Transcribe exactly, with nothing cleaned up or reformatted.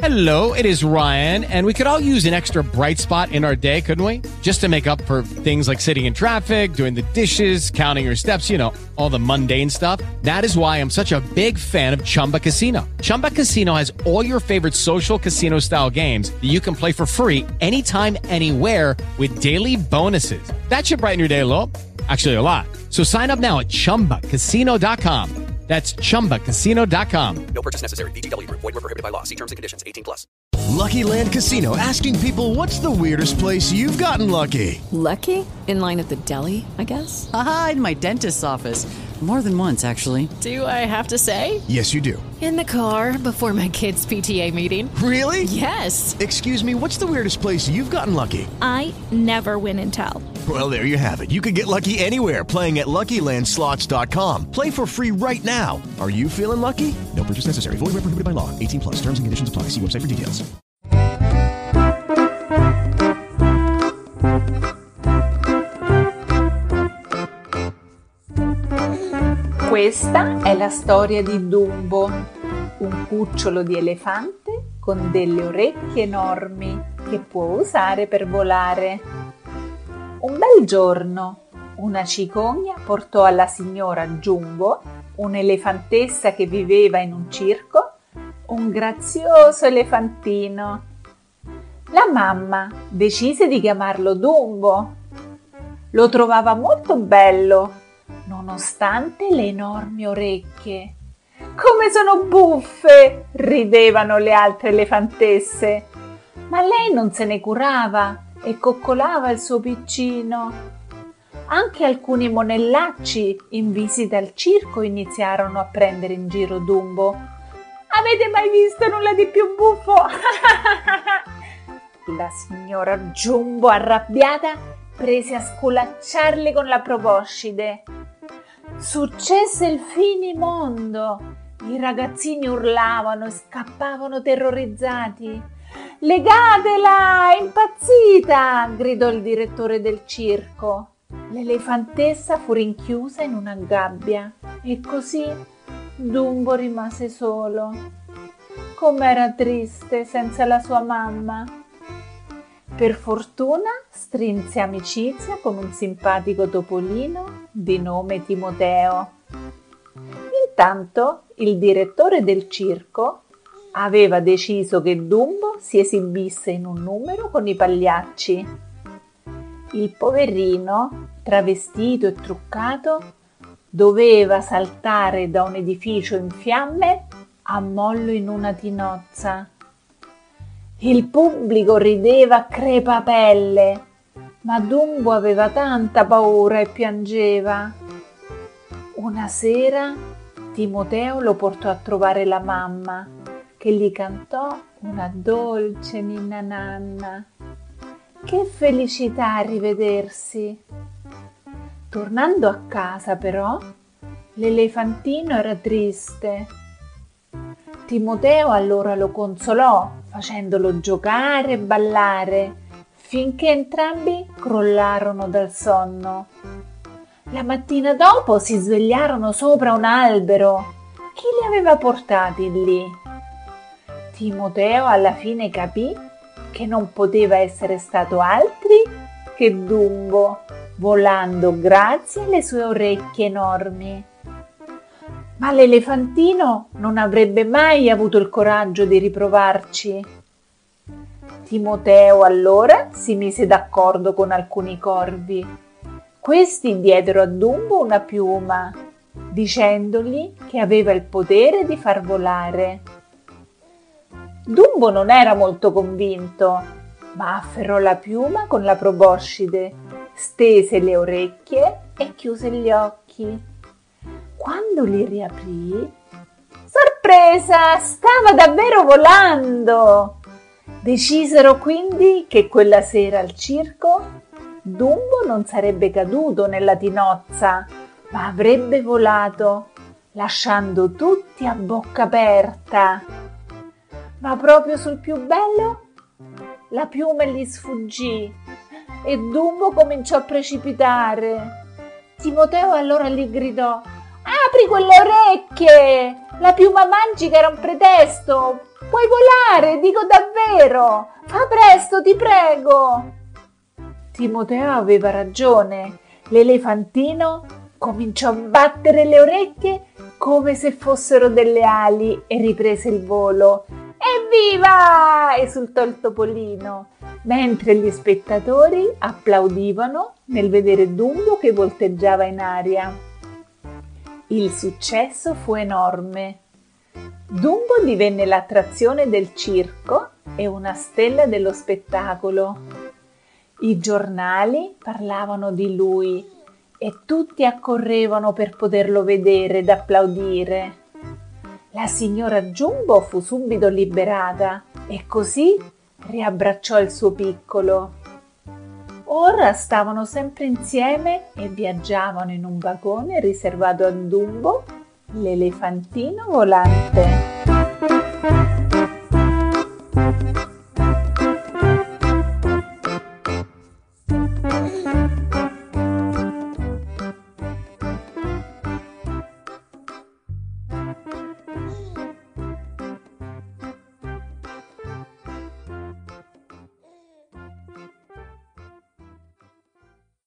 Hello, it is Ryan, and we could all use an extra bright spot in our day, couldn't we? Just to make up for things like sitting in traffic, doing the dishes, counting your steps, you know, all the mundane stuff. That is why I'm such a big fan of Chumba Casino. Chumba Casino has all your favorite social casino-style games that you can play for free anytime, anywhere with daily bonuses. That should brighten your day a little. Actually, a lot. So sign up now at chumba casino dot com. That's chumba casino dot com. No purchase necessary. V G W Group. Void where prohibited by law. See terms and conditions. eighteen plus. Lucky Land Casino, asking people, what's the weirdest place you've gotten lucky? Lucky? In line at the deli, I guess? Aha, in my dentist's office. More than once, actually. Do I have to say? Yes, you do. In the car before my kids' P T A meeting. Really? Yes. Excuse me, what's the weirdest place you've gotten lucky? I never win and tell. Well, there you have it. You can get lucky anywhere, playing at Lucky Land Slots dot com. Play for free right now. Are you feeling lucky? No purchase necessary. Void where prohibited by law. eighteen plus. Terms and conditions apply. See website for details. Questa è la storia di Dumbo, un cucciolo di elefante con delle orecchie enormi che può usare per volare. Un bel giorno, una cicogna portò alla signora Jumbo, un'elefantessa che viveva in un circo, un grazioso elefantino. La mamma decise di chiamarlo Dumbo. Lo trovava molto bello, nonostante le enormi orecchie. Come sono buffe! Ridevano le altre elefantesse, ma lei non se ne curava e coccolava il suo piccino. Anche alcuni monellacci in visita al circo iniziarono a prendere in giro Dumbo. Avete mai visto nulla di più buffo? La signora Jumbo, arrabbiata, prese a sculacciarli con la proboscide. Successe il finimondo. I ragazzini urlavano e scappavano terrorizzati. «Legatela, è impazzita!» gridò il direttore del circo. L'elefantessa fu rinchiusa in una gabbia e così Dumbo rimase solo. Com'era triste senza la sua mamma. Per fortuna strinse amicizia con un simpatico topolino di nome Timoteo. Intanto il direttore del circo aveva deciso che Dumbo si esibisse in un numero con i pagliacci. Il poverino, travestito e truccato, doveva saltare da un edificio in fiamme a mollo in una tinozza. Il pubblico rideva a crepapelle, ma Dumbo aveva tanta paura e piangeva. Una sera Timoteo lo portò a trovare la mamma, che gli cantò una dolce ninna nanna. Che felicità a rivedersi! Tornando a casa, però, l'elefantino era triste. Timoteo allora lo consolò, facendolo giocare e ballare, finché entrambi crollarono dal sonno. La mattina dopo si svegliarono sopra un albero. Chi li aveva portati lì? Timoteo alla fine capì che non poteva essere stato altri che Dumbo, volando grazie alle sue orecchie enormi. Ma l'elefantino non avrebbe mai avuto il coraggio di riprovarci. Timoteo allora si mise d'accordo con alcuni corvi. Questi diedero a Dumbo una piuma, dicendogli che aveva il potere di far volare. Dumbo non era molto convinto, ma afferrò la piuma con la proboscide, stese le orecchie e chiuse gli occhi. Quando li riaprì, sorpresa, stava davvero volando! Decisero quindi che quella sera al circo Dumbo non sarebbe caduto nella tinozza, ma avrebbe volato, lasciando tutti a bocca aperta. Ma proprio sul più bello, la piuma gli sfuggì e Dumbo cominciò a precipitare. Timoteo allora gli gridò: «Apri quelle orecchie! La piuma magica era un pretesto puoi volare, dico davvero! Fa presto, ti prego! Timoteo aveva ragione. L'elefantino cominciò a battere le orecchie come se fossero delle ali e riprese il volo. Evviva! Esultò il topolino, mentre gli spettatori applaudivano nel vedere Dumbo che volteggiava in aria. Il successo fu enorme. Dumbo divenne l'attrazione del circo e una stella dello spettacolo. I giornali parlavano di lui e tutti accorrevano per poterlo vedere ed applaudire. La signora Jumbo fu subito liberata e così riabbracciò il suo piccolo. Ora stavano sempre insieme e viaggiavano in un vagone riservato a Dumbo, l'elefantino volante.